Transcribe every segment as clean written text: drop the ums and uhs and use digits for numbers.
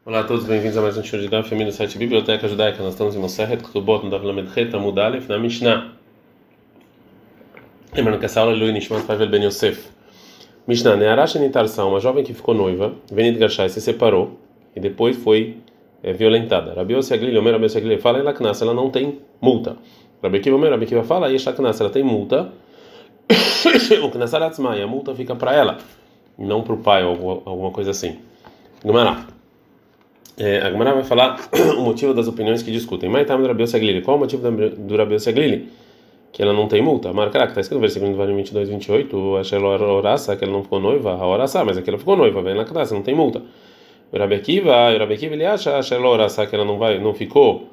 Olá a todos, bem-vindos a mais um show de Daf Yomi no site Biblioteca Judaica. Nós estamos em Masechet Ketubot, no Daf Lamed Het, Amud Aleph, na Mishnah. Lembrando que essa aula é Lui Nishmat Pavel Ben Yosef. Mishnah, Ne'ara Shenitarsa, uma jovem que ficou noiva, Venid Gashai, se separou e depois foi violentada. Rabi Yossi Aglili, Omer Rabi Yossi Aglili, fala, ela Knas, ela não tem multa. Rabi Akiva, Omer Rabi Akiva fala, Yesha Knas, ela tem multa. O Knas Aratzma, e a multa fica para ela, e não para o pai ou alguma coisa assim. Gumará. A Gemara vai falar o motivo das opiniões que discutem. Mas tá do Rabi Yossi Aglili. Qual o motivo do Rabi Yossi Aglili? Que ela não tem multa. Marca que está escrito no versículo 22, 28, a Shelorasa, que ela não ficou noiva, a Orasa, mas aqui ela ficou noiva, vem na classe, não tem multa. O Rabi Akiva ele acha a Shelorasa, que ela não ficou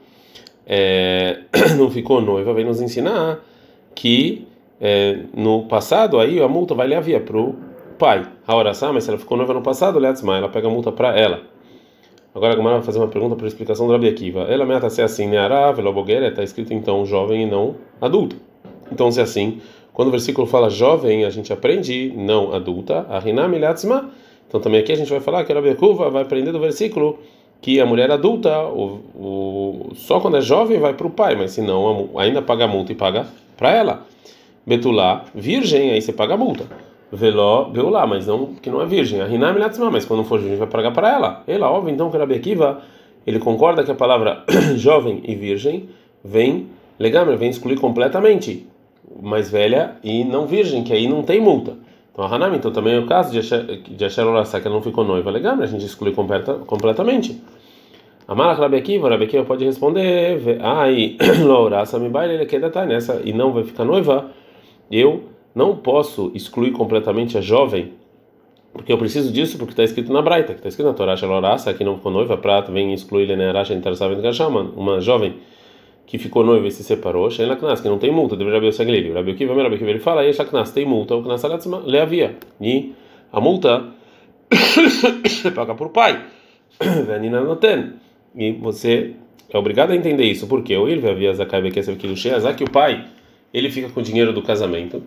noiva, vem nos ensinar que no passado aí a multa vai levar para o pai. A Orasa, mas se ela ficou noiva no passado, ela pega a multa para ela. Agora a Gemara vai fazer uma pergunta para a explicação do Rabi Akiva. Ela meta se é assim, Ne'ara veloboguera, está escrito então jovem e não adulta. Então se é assim, quando o versículo fala jovem, a gente aprende não adulta, a Rinam Ilatzma. Então também aqui a gente vai falar que o Rabi Akiva vai aprender do versículo que a mulher adulta, só quando é jovem vai para o pai, mas se não, ainda paga a multa e paga para ela. Betulá, virgem, aí você paga a multa. Veló, beulá, mas não que não é virgem. A Rinam Ilatzma, mas quando for virgem vai pagar para ela. Ela, óbvio, então que o Rabi Akiva, ele concorda que a palavra jovem e virgem vem excluir completamente mais velha e não virgem, que aí não tem multa. Então a Hanam, então também é o caso de Asher Orasa, que ela não ficou noiva, legal, a gente exclui completamente. A Malach Rabi Akiva pode responder, ai, Orasa me baile, ele quer detalhe nessa e não vai ficar noiva, eu não posso excluir completamente a jovem, porque eu preciso disso, porque está escrito na Braita, que está escrito na Torá, Shelorasa, que não ficou noiva, prata, vem excluir Lenearacha, uma jovem que ficou noiva e se separou, Sheila Knas, que não tem multa, deveria Rabi Yossi Aglili. Rabi Akiva, ele fala, Yesha Knas, tem multa, o Knas Aratzma, leavia. E a multa você paga por pai. Venina noten. E você é obrigado a entender isso, porque o Irve havia Zakai Bekesev Kilushé, que o pai, ele fica com o dinheiro do casamento.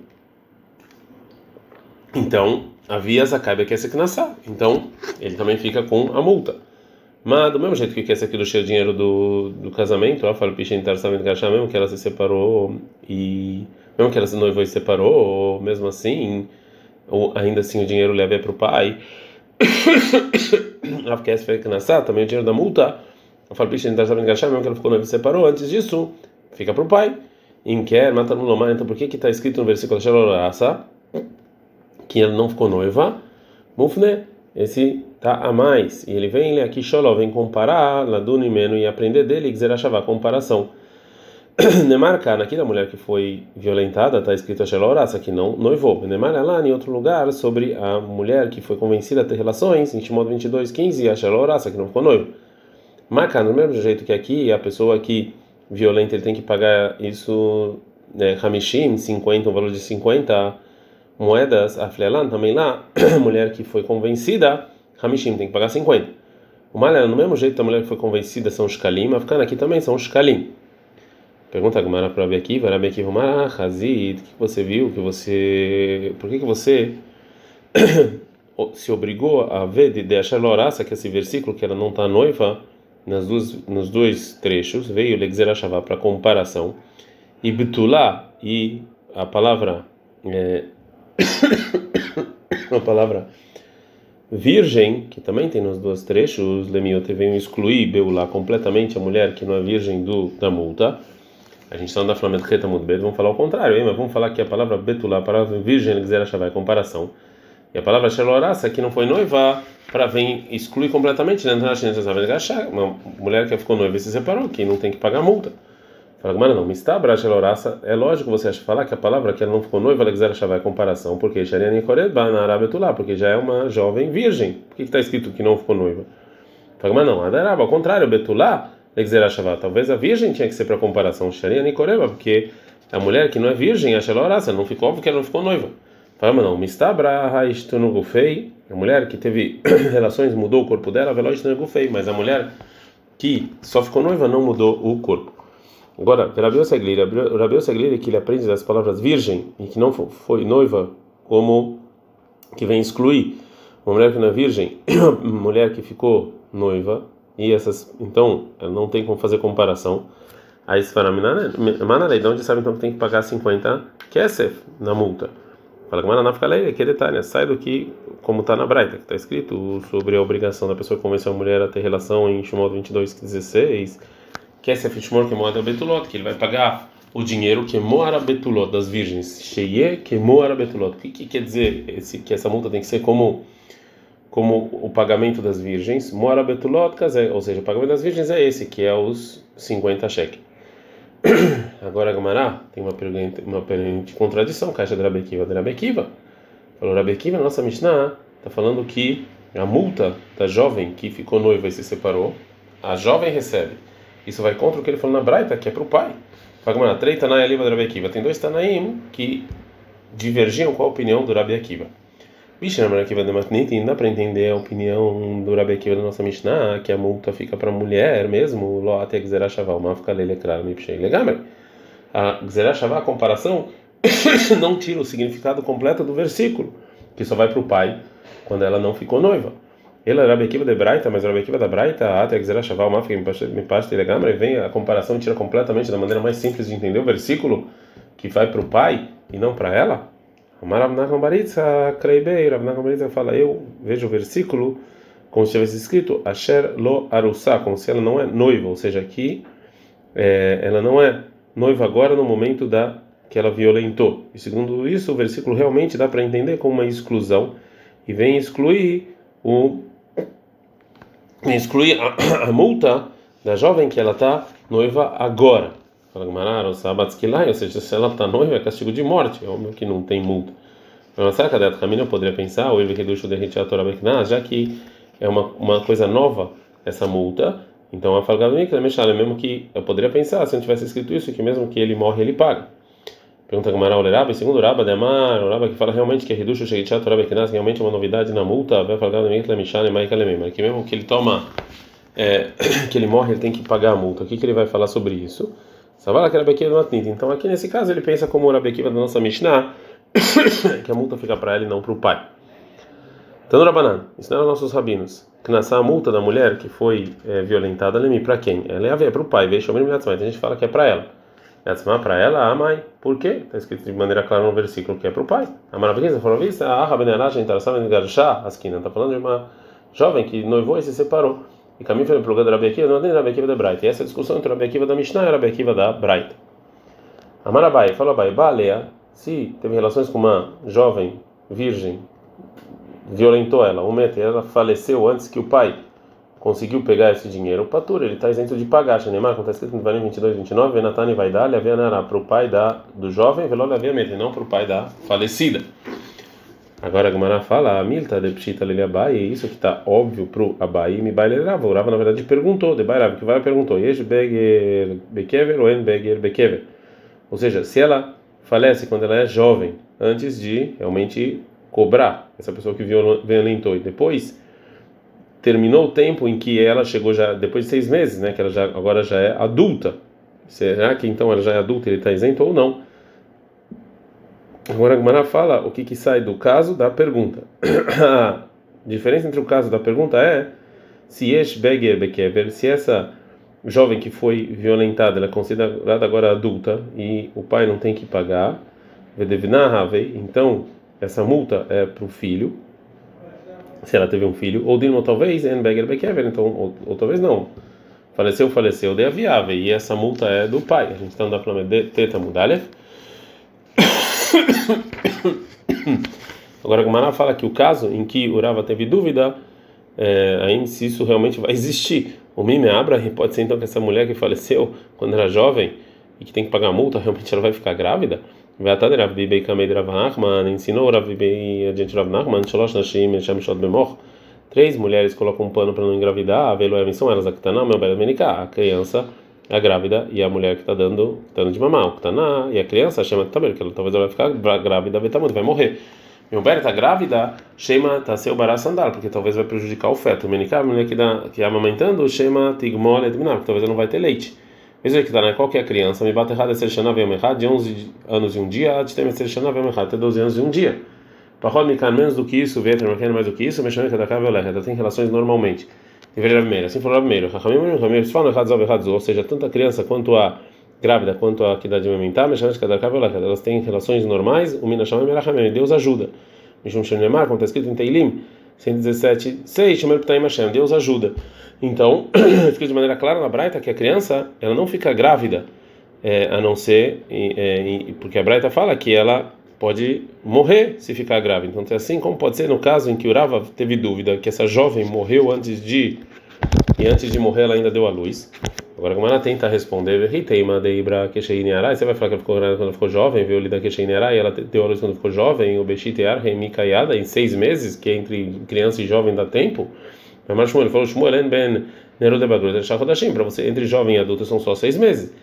Então, havia Zakai Bekesev Knassá. Então, ele também fica com a multa. Mas do mesmo jeito que esse aqui do cheio dinheiro do casamento, ela fala mesmo que ela se separou e mesmo que ela se noivou e se separou, ou mesmo assim, ou ainda assim o dinheiro leva para o pai. Também o dinheiro da multa, ela fala mesmo que ela ficou noiva e se separou, antes disso fica para o pai. Então por que está escrito no versículo que ela não ficou noiva? Mufne, esse tá a mais, e ele vem aqui vem comparar laduni meno e aprender dele Gzerashavá, comparação. Nemarca, aqui da mulher que foi violentada, está escrito a Shelorasa, que não noivou. Nemar lá em outro lugar sobre a mulher que foi convencida a ter relações, em Shimon 22:15, a Shelorasa, que não ficou noivo. Marca, do mesmo jeito que aqui, a pessoa que violenta, ele tem que pagar isso, Hamishim, 50, um valor de 50 moedas, a Flelan, também lá, a mulher que foi convencida, Hamishim tem que pagar 50. O Malha, no mesmo jeito, a mulher que foi convencida são os Shkalim, a Afkana aqui também são os Shkalim. Pergunta a Gemara para Rabi Akiva, Hazid, o que você viu? Por que você se obrigou a ver de achar Lorasa, que esse versículo, que ela não está noiva, nos dois trechos, veio Legzerashavá para comparação, e Betulá, e a palavra a palavra virgem, que também tem nos dois trechos, Lemiote veio excluir Beulá completamente a mulher que não é virgem da multa. A gente está na Flamengo Reta Mudbet, vamos falar o contrário, mas vamos falar que a palavra Betulá, a palavra virgem, Gzerashavá é comparação. E a palavra Shelorasa, que não foi noiva, para vir excluir completamente, uma mulher que ficou noiva e se separou, que não tem que pagar multa. Fala, mas não, mistabra Shelorasa, é lógico você acha falar que a palavra que ela não ficou noiva, Gzerashavá é comparação, porque Shariani Korebá na Arábia Betulá, porque já é uma jovem virgem. Por que está escrito que não ficou noiva? Fala, mas não, Adaraba, ao contrário, Betulá, Legzerashavá, talvez a virgem tinha que ser para comparação, Shariani Korebá, porque a mulher que não é virgem, a Shelorasa, não ficou, porque ela não ficou noiva. Fala, mas não, mistabra Haishtunugufei, a mulher que teve relações mudou o corpo dela, Veloishtunugufei, mas a mulher que só ficou noiva não mudou o corpo. Agora, o Rabi Yossi Aglili, que ele aprende das palavras virgem e que não foi noiva, como que vem excluir uma mulher que não é virgem, uma mulher que ficou noiva e essas, então ela não tem como fazer comparação. Aí se fala, Manalei, de onde sabe então que tem que pagar 50 kesef na multa? Fala que Mananá fica lei, que detalhe, sai do que, como está na Braita, que está escrito sobre a obrigação da pessoa que convencer a mulher a ter relação em Shemot 22:16, kesef Shmor que moara betulot, que ele vai pagar o dinheiro que moara betulot das virgens, sheye que moara betulot. O que quer dizer que essa multa tem que ser como o pagamento das virgens? Moara betulot, ou seja, o pagamento das virgens é esse, que é os 50 shekel. Agora a Gamará tem uma pergunta contradição, caixa de Rabi Akiva. Falou Rabi Akiva, nossa Mishnah está falando que a multa da jovem que ficou noiva e se separou, a jovem recebe. Isso vai contra o que ele falou na Braita, que é para o pai. Fala Gamará, três Tanai Aliva de Rabi Akiva. Tem dois Tanaim que divergiam com a opinião do Rabi Akiva. Mishnah Rabi Akiva de Matnitin, dá para entender a opinião do Rabi Akiva da nossa Mishnah, que a multa fica para a mulher mesmo, lo até Gzerah Shavah, uma fica lelekrar, me pshei legamre. A Gzerah Shavah, a comparação, não tira o significado completo do versículo, que só vai para o pai quando ela não ficou noiva. Ele é Rabi Akiva de Braita, mas o Rabi Akiva da Braita, até Gzerah Shavah, uma fica me pashei legamre, vem a comparação tira completamente da maneira mais simples de entender o versículo, que vai para o pai e não para ela. Rav Nachman bar Yitzchak Kreibei, Rav Nachman bar Yitzchak fala, eu vejo o versículo como se tivesse escrito Asher lo arussá, como se ela não é noiva, ou seja, aqui ela não é noiva agora no momento que ela violentou. E segundo isso, o versículo realmente dá para entender como uma exclusão e vem excluir a multa da jovem que ela está noiva agora. Fala Gmará, ou seja, se ela está noiva é castigo de morte, é homem que não tem multa. Mas será que a Caminho eu poderia pensar, ou ele reduz o derrete a Torá Bekná, já que é uma coisa nova essa multa, então a Falgado mesmo que eu poderia pensar, se não tivesse escrito isso, que mesmo que ele morre, ele paga. Pergunta Gmará ao Leraba, segundo o Raba de Amar, o Raba que fala realmente que reduz o derrete a Torá Bekná, realmente é uma novidade na multa, vai Falgado mas que mesmo que ele toma, que ele morre, ele tem que pagar a multa. O que ele vai falar sobre isso? Savala que Rabi Akiva do Matnit. Então aqui nesse caso ele pensa como o Rabi Akiva da nossa Mishnah, que a multa fica para ela e não para o pai. Então no Rabanan, ensinaram nossos rabinos que nasce a multa da mulher que foi violentada, lemi para quem? Ela é para o pai. Veja, a gente fala que é para ela. Yatzma para ela, a mãe. Por quê? Está escrito de maneira clara no versículo que é para o pai. A maravilha falou vista, a Rabenelach interessava em garchá as quinas. Está falando de uma jovem que noivou e se separou. E caminho foi para o lugar do Rabi Akiva, não tem Rabi Akiva da Braita. E essa discussão entre o Rabi Akiva da Mishnah e o Rabi Akiva da Braita. Amarabai, falou Abai, Balea, se teve relações com uma jovem virgem, violentou ela, e ela faleceu antes que o pai conseguiu pegar esse dinheiro, o patur, ele está isento de pagar. Shenemar, como está escrito no Varim 22:29, Venatani vai dar, levei para o pai do jovem, veló levei a meta, não para o pai da falecida. Agora a Gemara fala, a Milta de Pshita Lili Abai, e isso que está óbvio para o Abai, me baile Rava. O Rava na verdade perguntou, de Bairav, que vai perguntou, Yesh Beger Bekever ou En Beger Bekever? Ou seja, se ela falece quando ela é jovem, antes de realmente cobrar essa pessoa que violentou, e depois terminou o tempo em que ela chegou já, depois de 6 meses, né, que ela agora já é adulta, será que então ela já é adulta e ele está isento ou não? Agora a Gemara fala o que sai do caso da pergunta. A diferença entre o caso da pergunta é se Yesh Beger Bekever, se essa jovem que foi violentada ela é considerada agora adulta e o pai não tem que pagar, então essa multa é para o filho, se ela teve um filho, ou Dilma talvez En Beger Bekever, então ou talvez não. Faleceu de aviável e essa multa é do pai. A gente está andando para o Teta Mudalef. Agora a Gemara fala que o caso em que o Rava teve dúvida, ainda se isso realmente vai existir. O Mime Abra pode ser então que essa mulher que faleceu quando era jovem e que tem que pagar a multa, realmente ela vai ficar grávida? Vai até Rav Bibei Kamei de Rav Nachman, ensinou Rav Bibei adiante Rav Nachman, Shalosh Nashim Esham Shot Bemor. 3 mulheres colocam um pano para não engravidar, a Veloem são elas, a Ktaná, meu belo Menicá, a criança, a grávida e a mulher que está dando de mamar, o Ktaná e a criança, chama Taber, que talvez ela vai ficar grávida, vai morrer. Meu belo está grávida, chama Taseu Bará Sandal, porque talvez vai prejudicar o feto. O Menicá, a mulher que está amamentando, chama Tigmol Edminar, porque talvez ela não vai ter leite. Mesmo que está, né? Qual que é a criança? Me bate errado, de 11 anos e um dia, até 12 anos e um dia. Para menos do que isso, Veter mais do que isso, mexendo que ela tem relações normalmente. Deveria primeiro. Assim falou primeiro. Ramiro falam errado, ou seja, tanto a criança quanto a grávida, quanto a que dá de amamentar, elas têm relações normais, o Minasham e Deus ajuda. Mishum Shenemar, como está escrito em Teilim 117:6, Deus ajuda. Então, escrito de maneira clara na Braita que a criança, ela não fica grávida, a não ser, porque a Braita fala que ela pode morrer se ficar grávida. Então, é assim como pode ser no caso em que o Rava teve dúvida que essa jovem morreu antes de morrer ela ainda deu à luz. Agora, como ela tenta responder, você vai falar que ela ficou grávida quando ela ficou jovem, viu? E ela deu à luz quando ficou jovem, o Beshitear, Remikayada, em 6 meses, que entre criança e jovem dá tempo. Mas Shmuel falou: Shmuel ben Neruda Bagrut, para você, entre jovem e adulto são só 6 meses.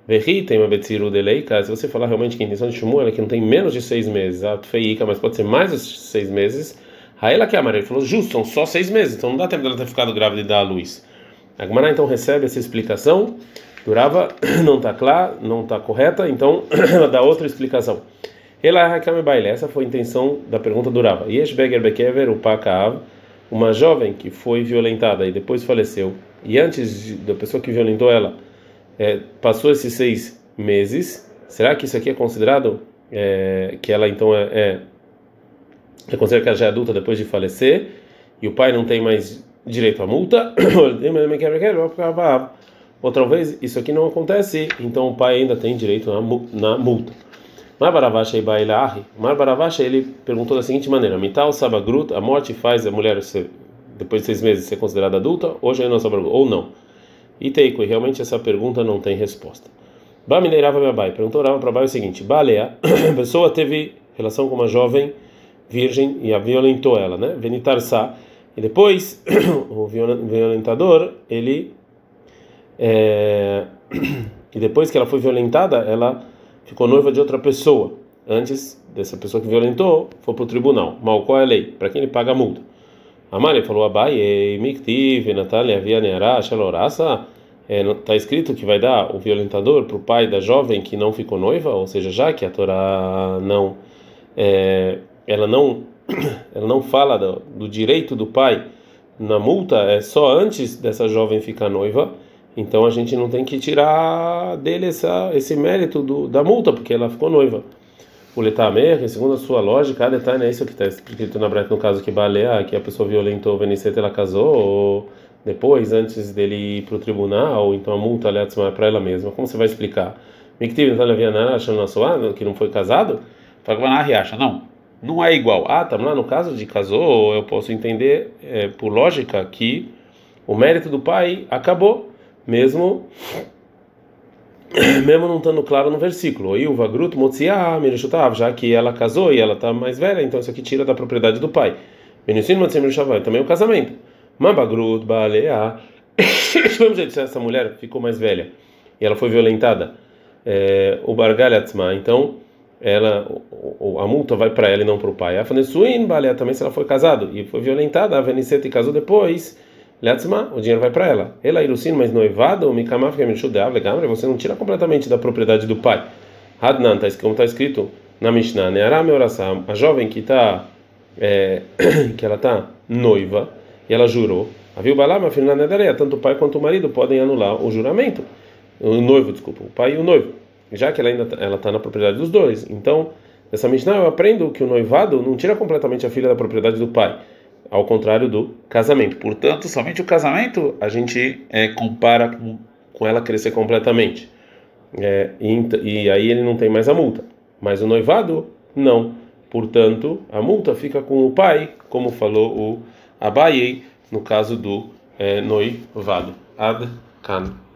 Se você falar realmente que a intenção de Shmuel é que não tem menos de 6 meses, mas pode ser mais de 6 meses, aí ela que ele falou: justo, são só 6 meses, então não dá tempo dela ter ficado grávida e dar à luz. A Gemara então recebe essa explicação, Durava não está clara, não está correta, então ela dá outra explicação. Essa foi a intenção da pergunta do Rava. Yesh Beger Bekever, o Pakav, uma jovem que foi violentada e depois faleceu, e antes da pessoa que violentou ela passou esses 6 meses, será que isso aqui é considerado que ela então é considerado que ela já é adulta depois de falecer e o pai não tem mais direito à multa? Outra vez isso aqui não acontece, então o pai ainda tem direito na multa. Mar Baravasha ele perguntou da seguinte maneira: Mital Sabagrut, a morte faz a mulher depois de 6 meses ser considerada adulta, hoje não Sabagrut, ou não? E Teiko, realmente essa pergunta não tem resposta. Bamineirava meu pai, perguntou Rava para Bai o seguinte: Balea, a pessoa teve relação com uma jovem virgem e a violentou ela, né? Venitarsa, e depois o violentador ele e depois que ela foi violentada, ela ficou noiva de outra pessoa. Antes dessa pessoa que violentou, foi para o tribunal. Mal, qual é a lei? Para quem ele paga a multa? Amari falou: Abai, Miktiv, Natália, Via Neará, Shalorasa. Está escrito que vai dar o violentador para o pai da jovem que não ficou noiva, ou seja, já que a Torá ela não fala do direito do pai na multa, é só antes dessa jovem ficar noiva. Então a gente não tem que tirar dele esse mérito da multa, porque ela ficou noiva. O Letamer, segundo a sua lógica, detalhe é isso que está escrito na Braita, no caso que Balea, que a pessoa violentou o Veniceta, ela casou, ou depois, antes dele ir para o tribunal, então a multa é para ela mesma. Como você vai explicar? Miktiv, que não foi casado? Não é igual. Tá lá no caso de casou, eu posso entender por lógica que o mérito do pai acabou, mesmo não estando claro no versículo. E o Vagrut Motziah Mirishutav, já que ela casou e ela está mais velha, então isso aqui tira da propriedade do pai. Benissim Motziah Mirishutav, também o casamento. Mabagrut Baalea. Vamos dizer, se essa mulher ficou mais velha e ela foi violentada, o Bargal Atzma, então a multa vai para ela e não para o pai. A Fanesuin Baalea também, se ela foi casada e foi violentada, a Veniceta e casou depois, o dinheiro vai para ela. Ela irusin, mas noivado, o mikamaf que é você não tira completamente da propriedade do pai. Hadnan, como está escrito na Mishnah, Neará meorasam, a jovem que ela está noiva e ela jurou. Aviu balama filha nedareia, tanto o pai quanto o marido podem anular o juramento. O noivo, desculpa, o pai e o noivo, já que ela está na propriedade dos dois. Então, nessa Mishnah eu aprendo que o noivado não tira completamente a filha da propriedade do pai, ao contrário do casamento. Portanto, somente o casamento a gente compara com ela crescer completamente. E aí ele não tem mais a multa. Mas o noivado, não. Portanto, a multa fica com o pai, como falou o Abaye, no caso do noivado. Ad Kan.